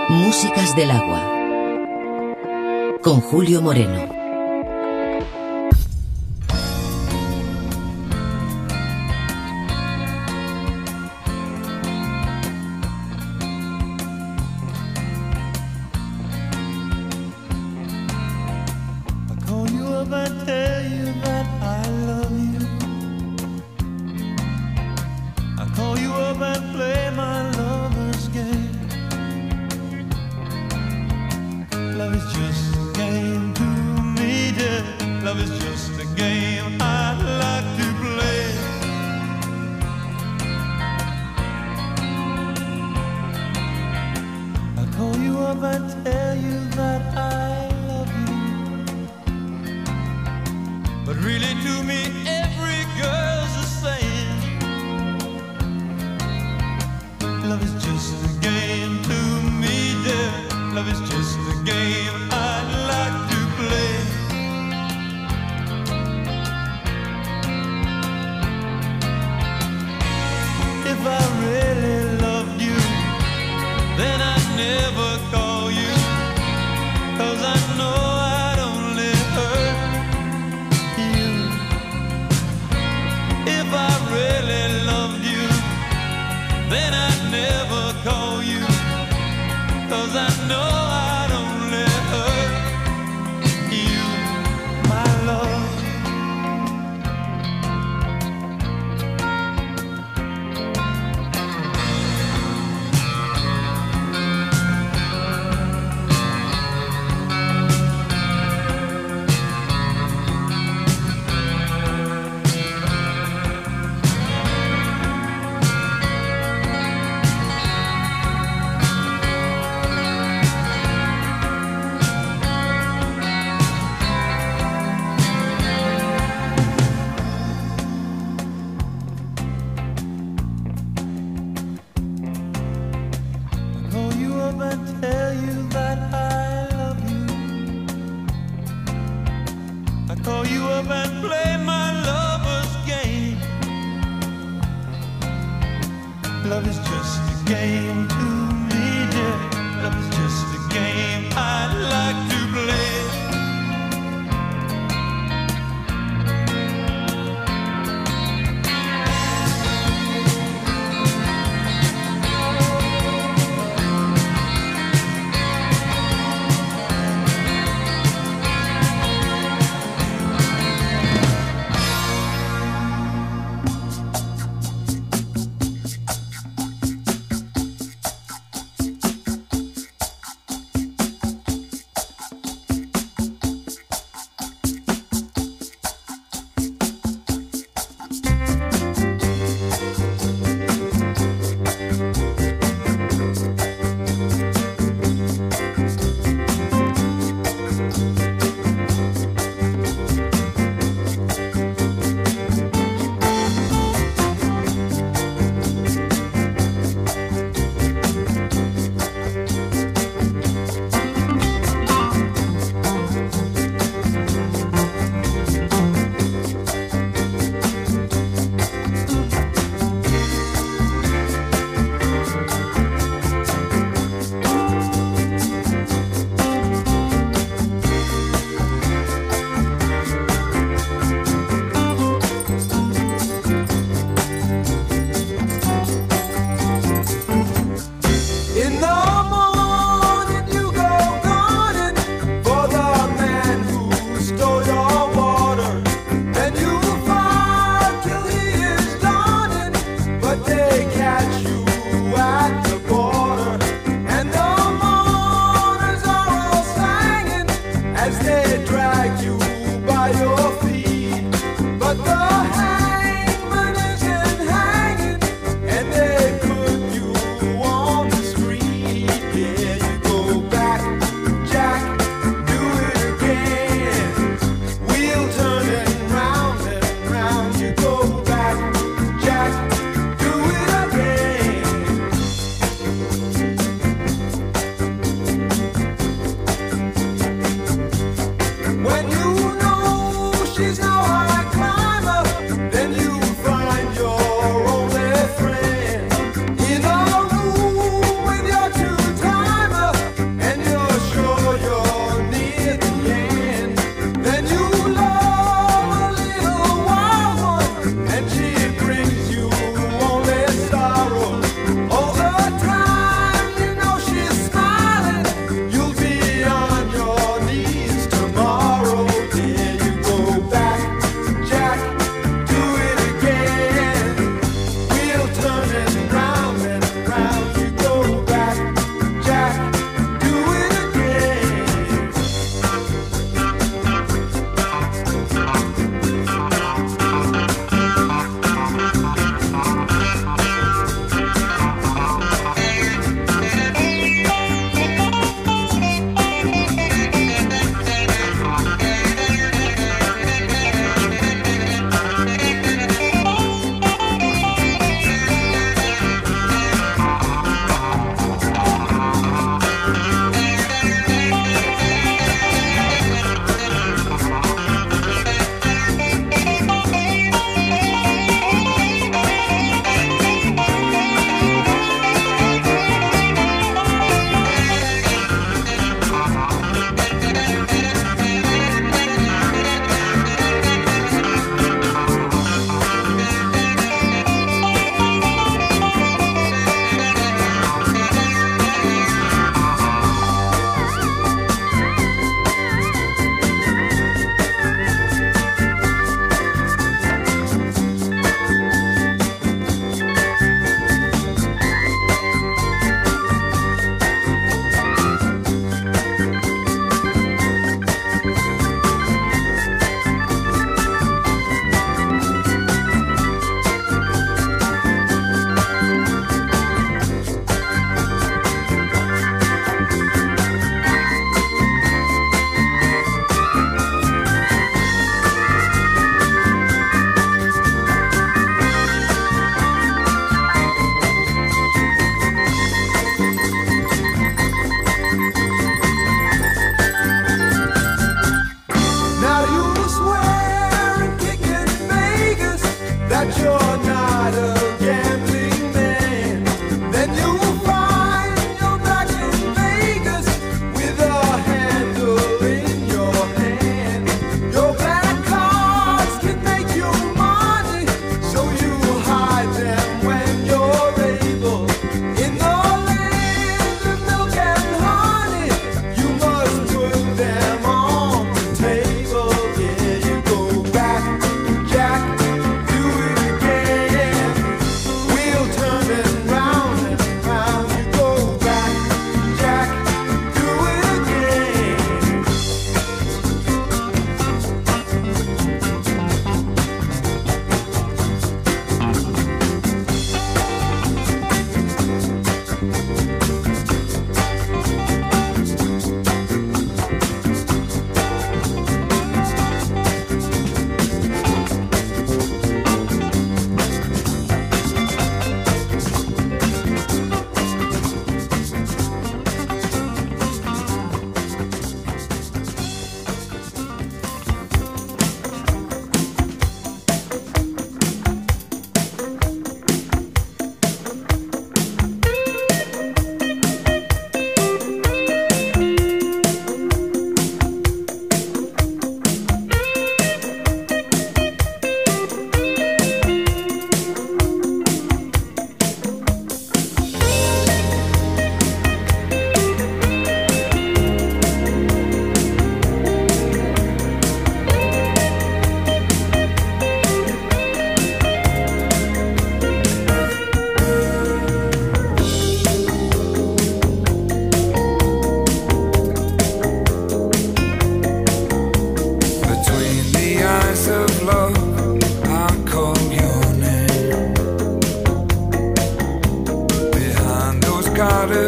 Músicas del agua. Con Julio Moreno.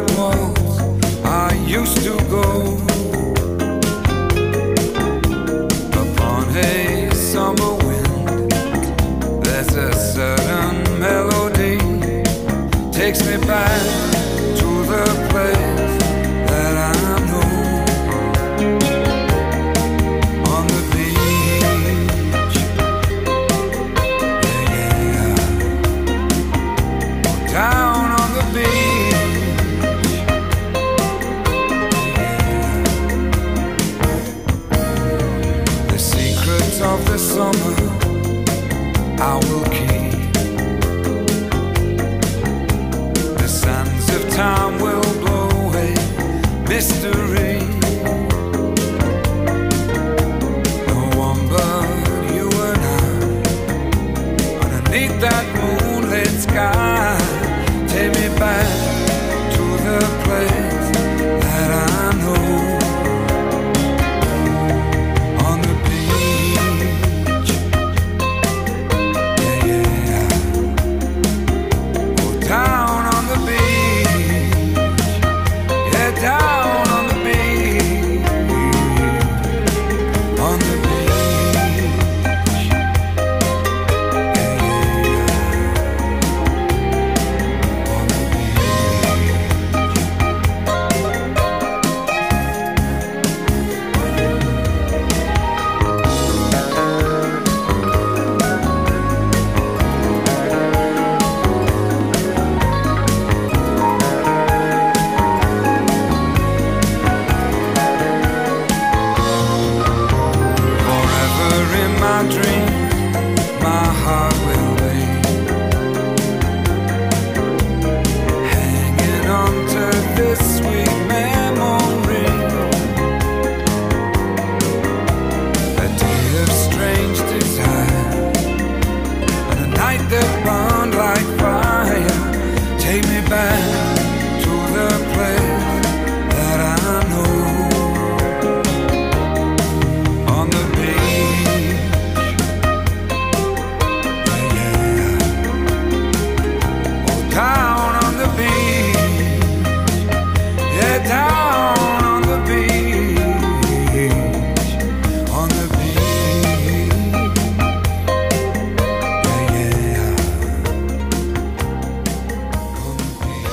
waltz I used to go upon a summer wind. There's a certain melody takes me back to the place that I know. On the beach, yeah, yeah. Down on the beach, yeah. The secrets of the summer I will keep. The sands of time will blow away mystery. No one but you and I, underneath that moonlit sky. Take me back to the place that I know. On the beach, yeah, yeah. Oh, down on the beach, yeah, down on the beach, on the beach, yeah, yeah. On the forever in my dream, my heart will be hanging on to this sweet memory. A day of strange desire, and a night that burned like fire. Take me back to the place that I know. On the beach, yeah, yeah. Oh, down on the beach, yeah, down on the beach, on the beach, yeah, yeah. On the beach.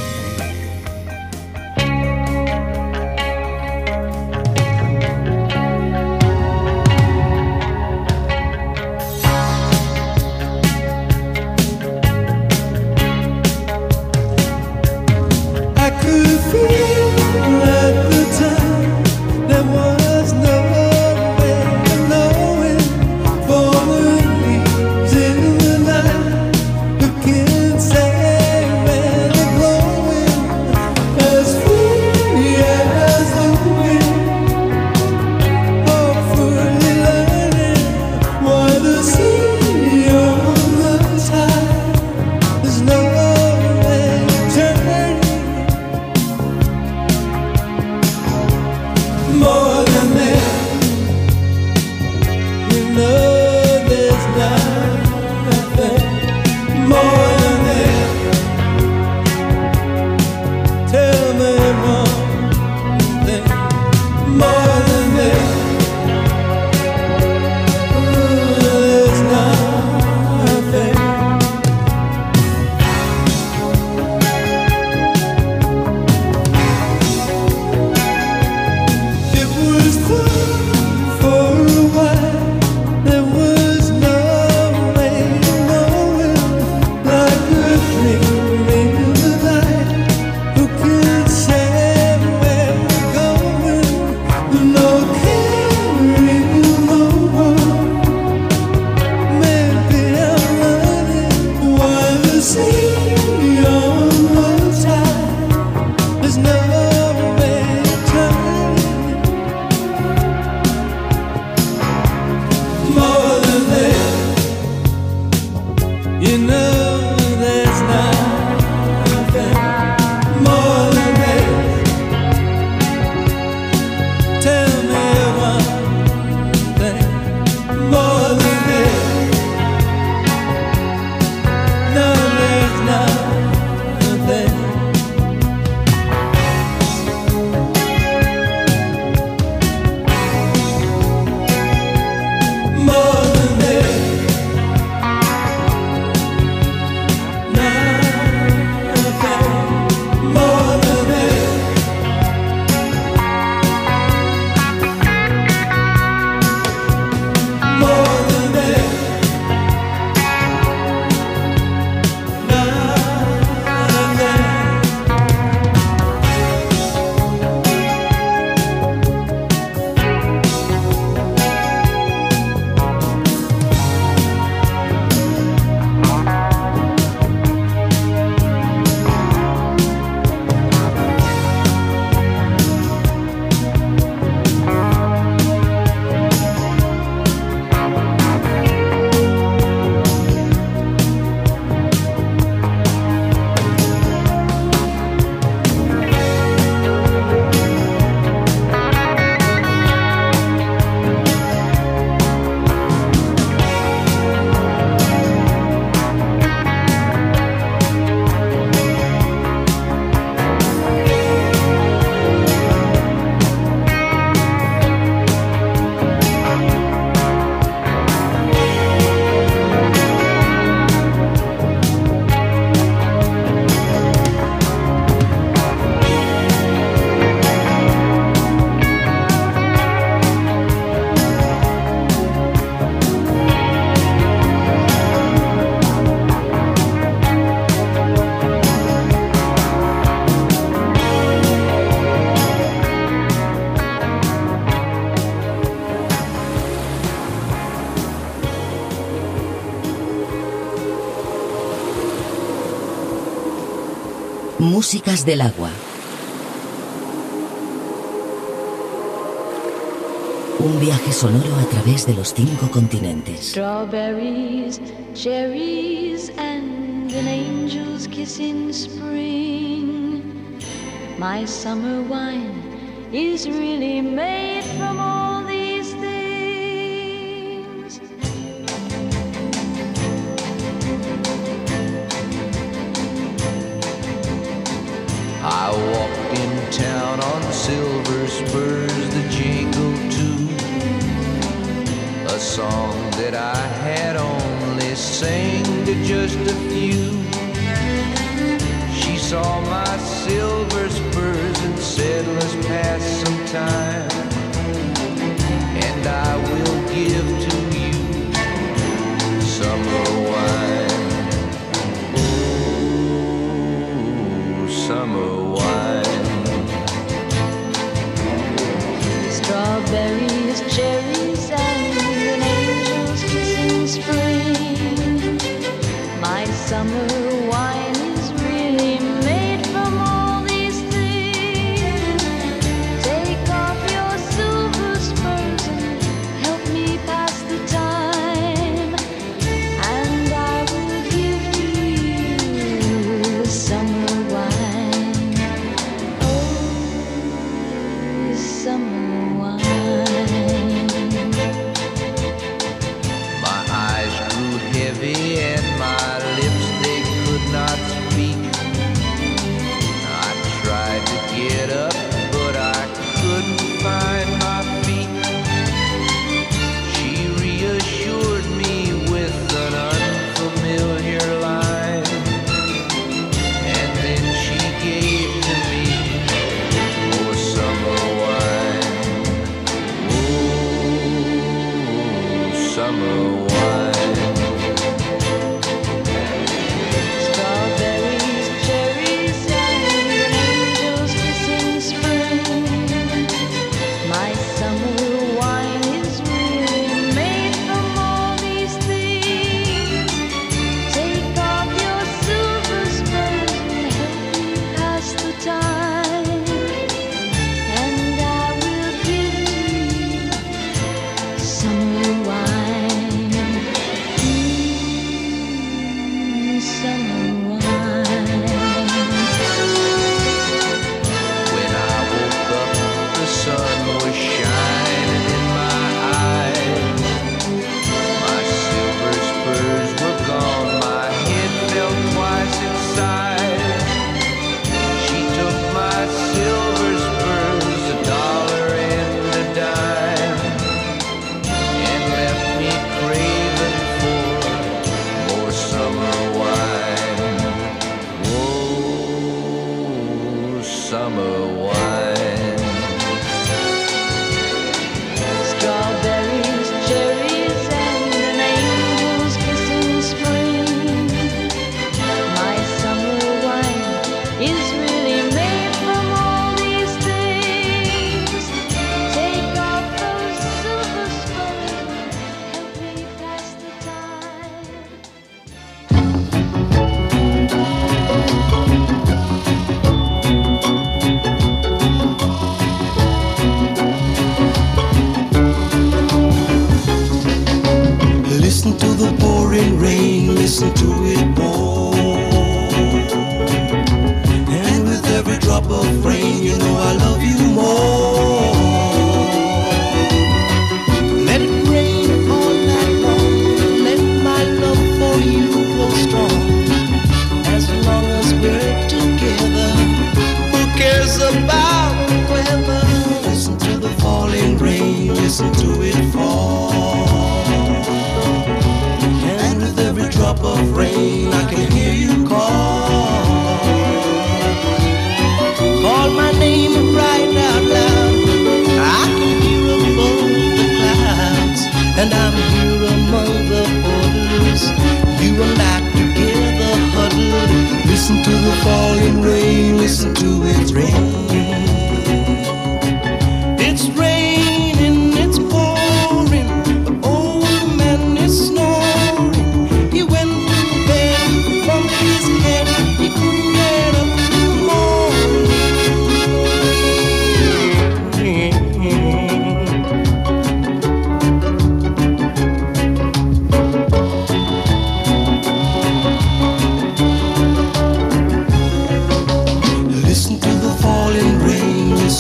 I could feel at the time there was no way of knowing. Falling leaves in the night, looking sad and glowing, as free as the wind. Hopefully learning why the sea on the tide. There's no way of turning. Músicas del agua. Un viaje sonoro a través de los 5 continentes. Strawberries, cherries, and an angel's kiss in spring. My summer wine is really made from all these things. I walked in town on silver spurs that jingle too, a song that I had only sang to just a few. She saw my silver spurs and said, let's pass some time, and I will give to you summer wine. Oh, summer wine. Strawberries, cherries, and an angel's kiss in spring. My summer wine is really made from all these things. Take off your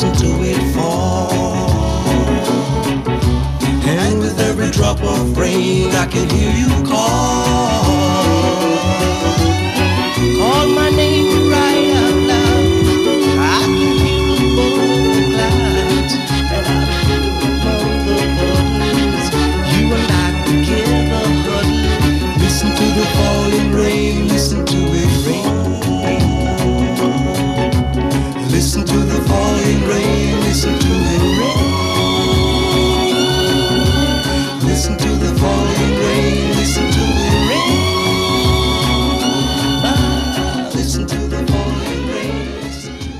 listen to it fall. And with every drop of rain, I can hear you call. Call my name right out loud. I can hear above the clouds, and I feel among the puddles. You and I together huddle. Listen to the falling rain, listen to it rain. Listen to the falling rain, listen to it rain. Listen to the falling rain, listen to it rain. Ah, listen to the falling rain, listen to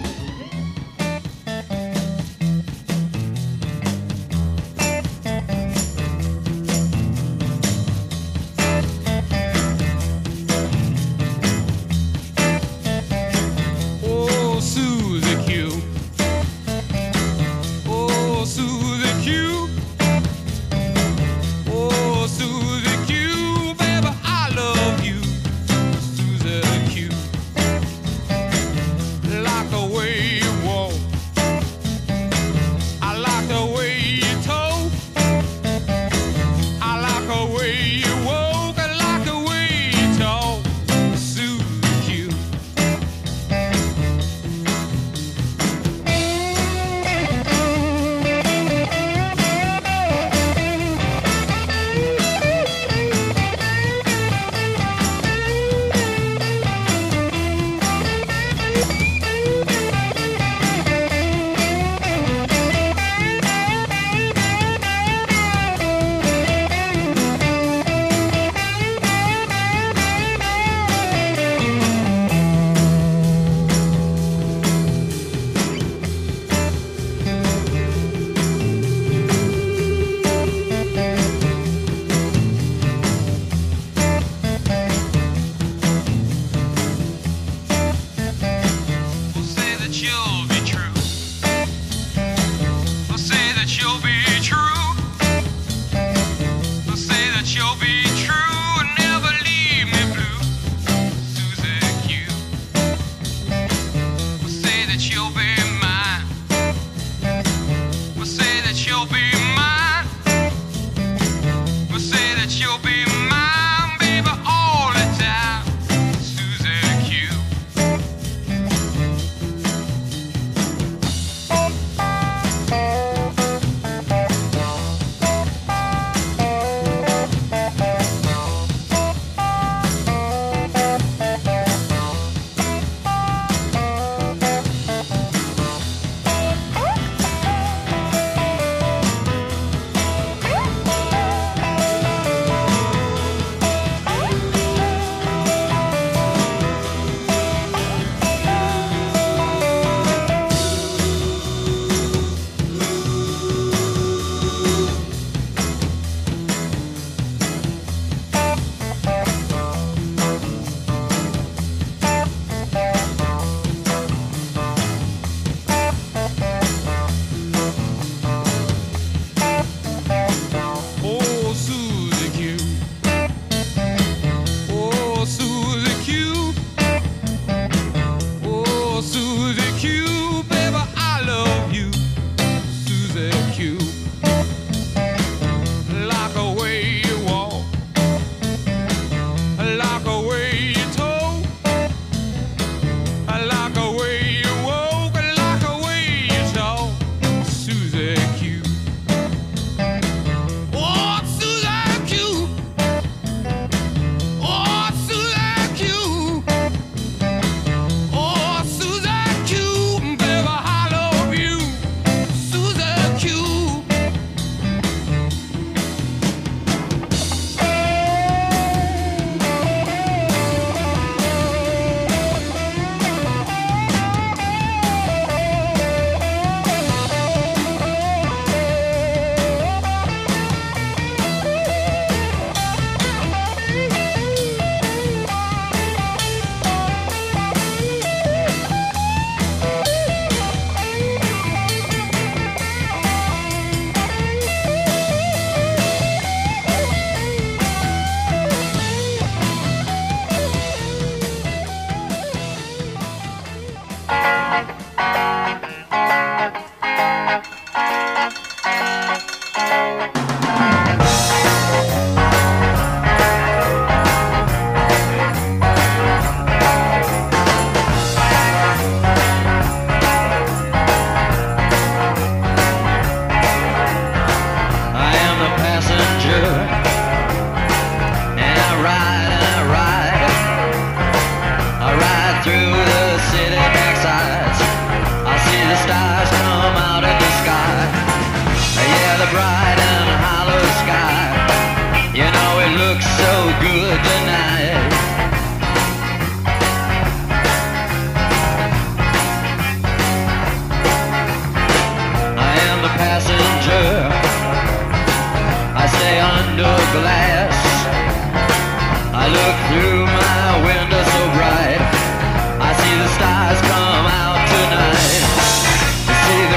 Oh, Susie Q. Oh, Susie Q. Oh, Susie Q. Baby, I love you. Susie Q. Like the way you walk. I like the way you talk. I like the way you walk. I like the way you talk. Susie Q. Say that you'll be true. Say that you'll be true. Say that you'll be true and never leave me blue. Susie Q. Say that you'll be mine. Say that you'll be mine. Say that you'll be mine, baby, all the time. Susie Q. Oh, Susie Q. Oh, Susie Q. Oh, Susie Q. Baby, I love you. Susie Q. Like the way you walk. Like the way you talk. Like the way you walk. Like the way you talk. Susie Q. Oh, Susie Q. Oh, Susie Q. Oh, Susie Q. Baby, I love you. Susie Q.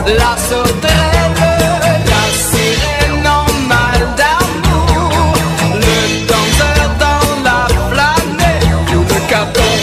la sauterelle, la sirène en mal d'amour, le danseur dans la planète, le capon.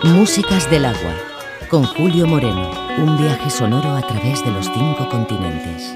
Músicas del agua, con Julio Moreno. Un viaje sonoro a través de los 5 continentes.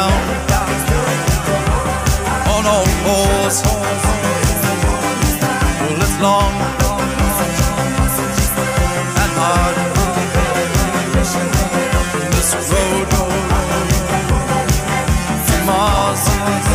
on all fours. long and hard. This road to Mars.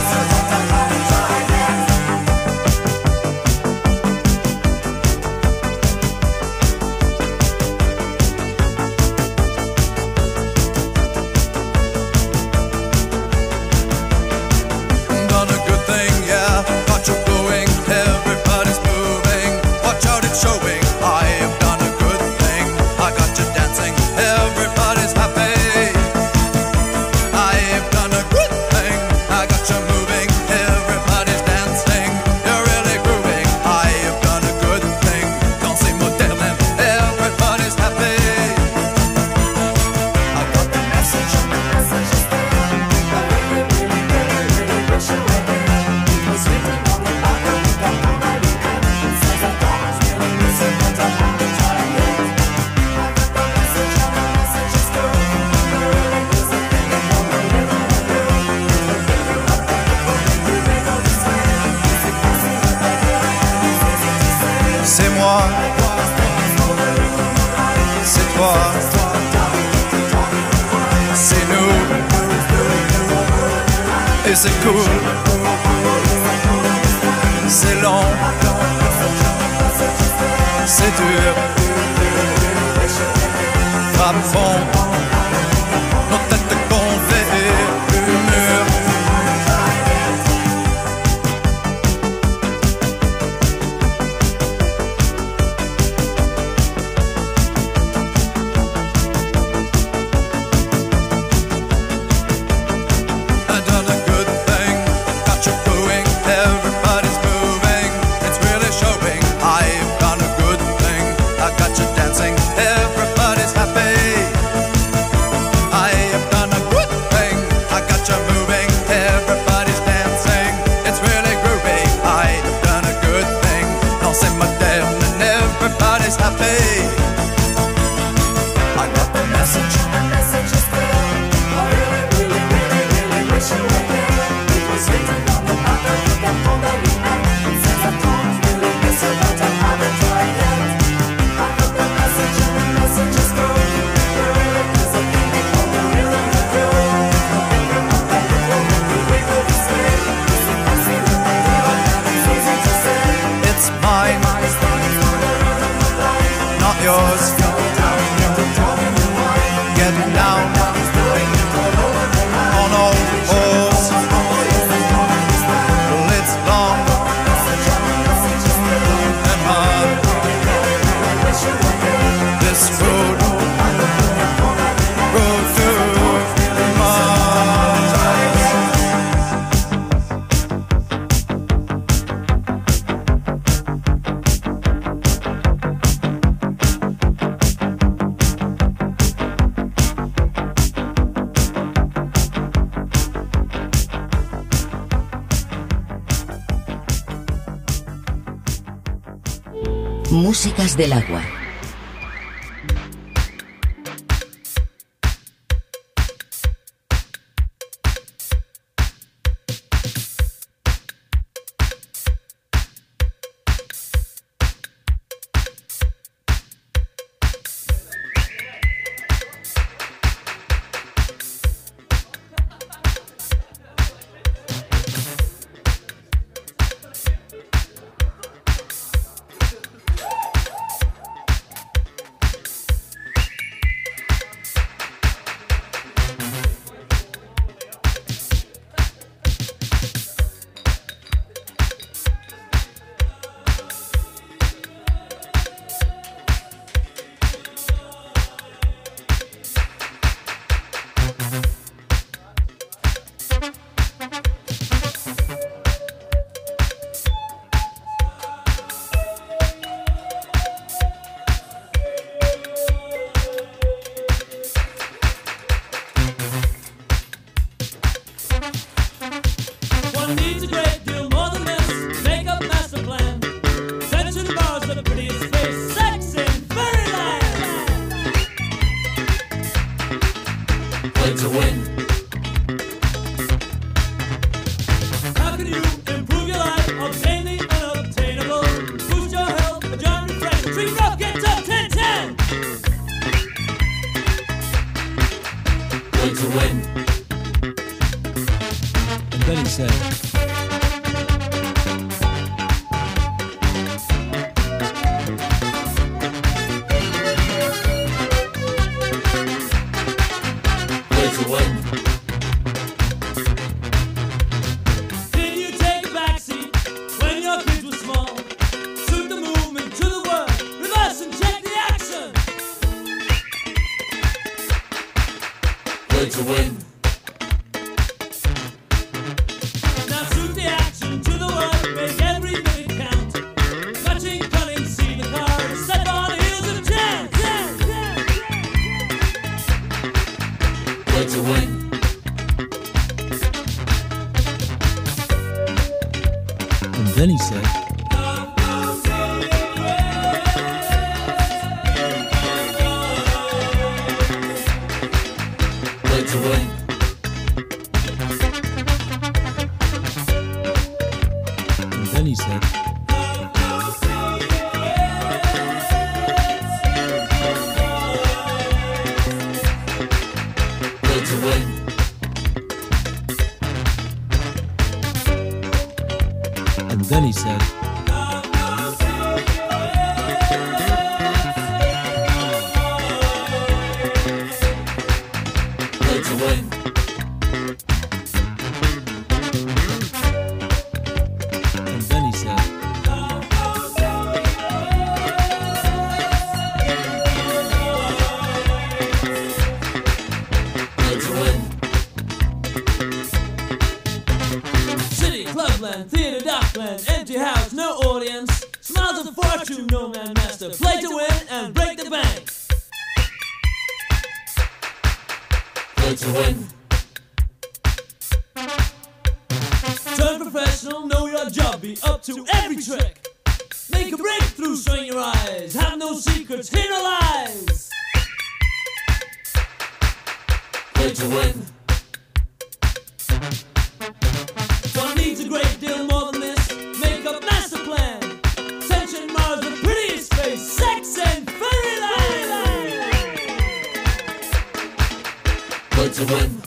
Done a good thing, yeah. Got you going, everybody's moving. Watch out, it's showing. I have done a good thing. I got you dancing, everybody's happy. I have done a good thing. I got you moving, everybody's dancing. You're really grooving. I have done a good thing. Dancing moderne, everybody's happy. I got the message. C'est moi, c'est toi, c'est nous, et c'est cool, c'est long, c'est dur, frappe fond, nos têtes gonflées du mur. I've done a good thing, got you going, everybody's moving, it's really showing. I've done a good thing, I got you dancing, everybody's happy. I have done a good thing, I got you moving, everybody's dancing, it's really groovy. I have done a good thing, dancing moderne and everybody's happy. I got the message. It's mine, not yours. Get down on all fours. Well, it's long and hard. This road to Mars. Músicas del agua. to win. How can you improve your life, obtain the unobtainable, boost your health? then he said, Play to win. Did you take a backseat when your kids were small? Suit the movement to the word, reverse and check the action. Play to win. Now suit the action to the word, make every minute count. Matching, cutting, see the card, step on the heels of chance. Play to win. and then he said, Play to win. and then he said, Play to win. and then he said, Play to win. and then he said, Play to win. City, clubland, theater, dockland, empty house, no audience. Smiles of fortune, no man master. Play to win and break the bank. Play to win. Turn professional, know your job, be up to every trick. Make a breakthrough, strain your eyes. Have no secrets, hear no lies. Play to win. One needs a great deal more than this. Make a master plan. Tension mars the prettiest face. Sex and fairyland. Play to win.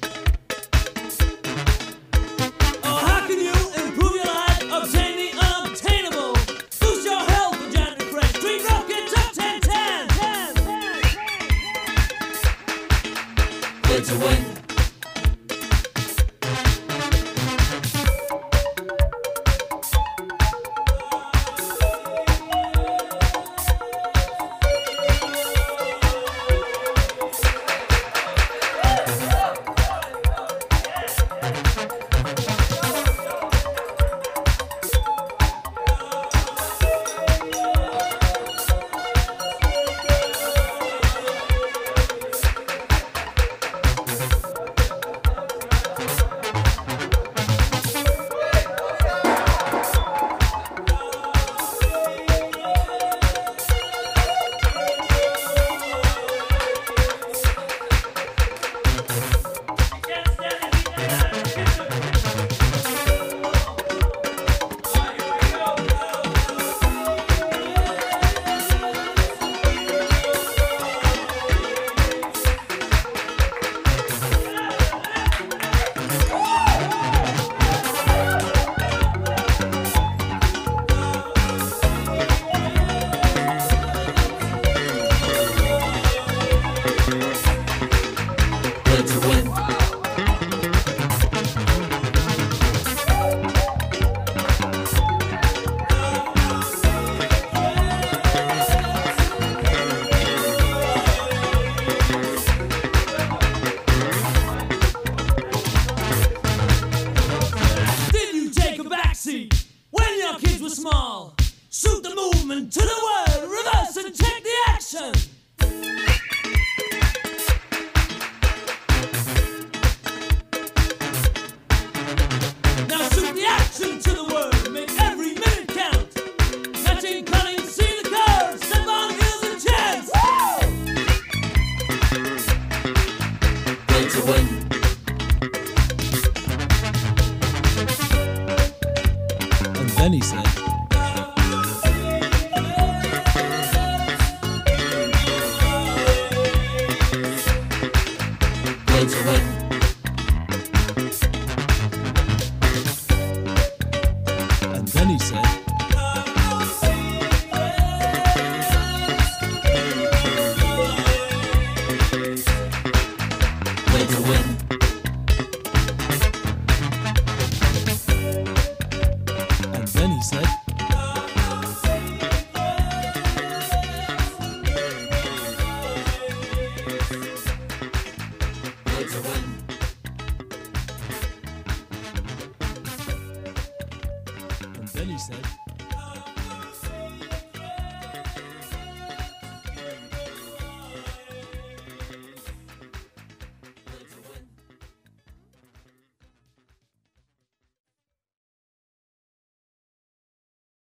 Oh, how can you improve your life? Obtain the unobtainable. Boost your health with January Fresh. Dream rockets up 10-10. Play to win. Play to win. Did you take a backseat when your kids were small? Suit the movement to the word, reverse and check the action. Now suit the action to the word, make every minute count. Matching, cutting, see the curves, step on heels and chance. Play to win. and then he said, Play to win. said,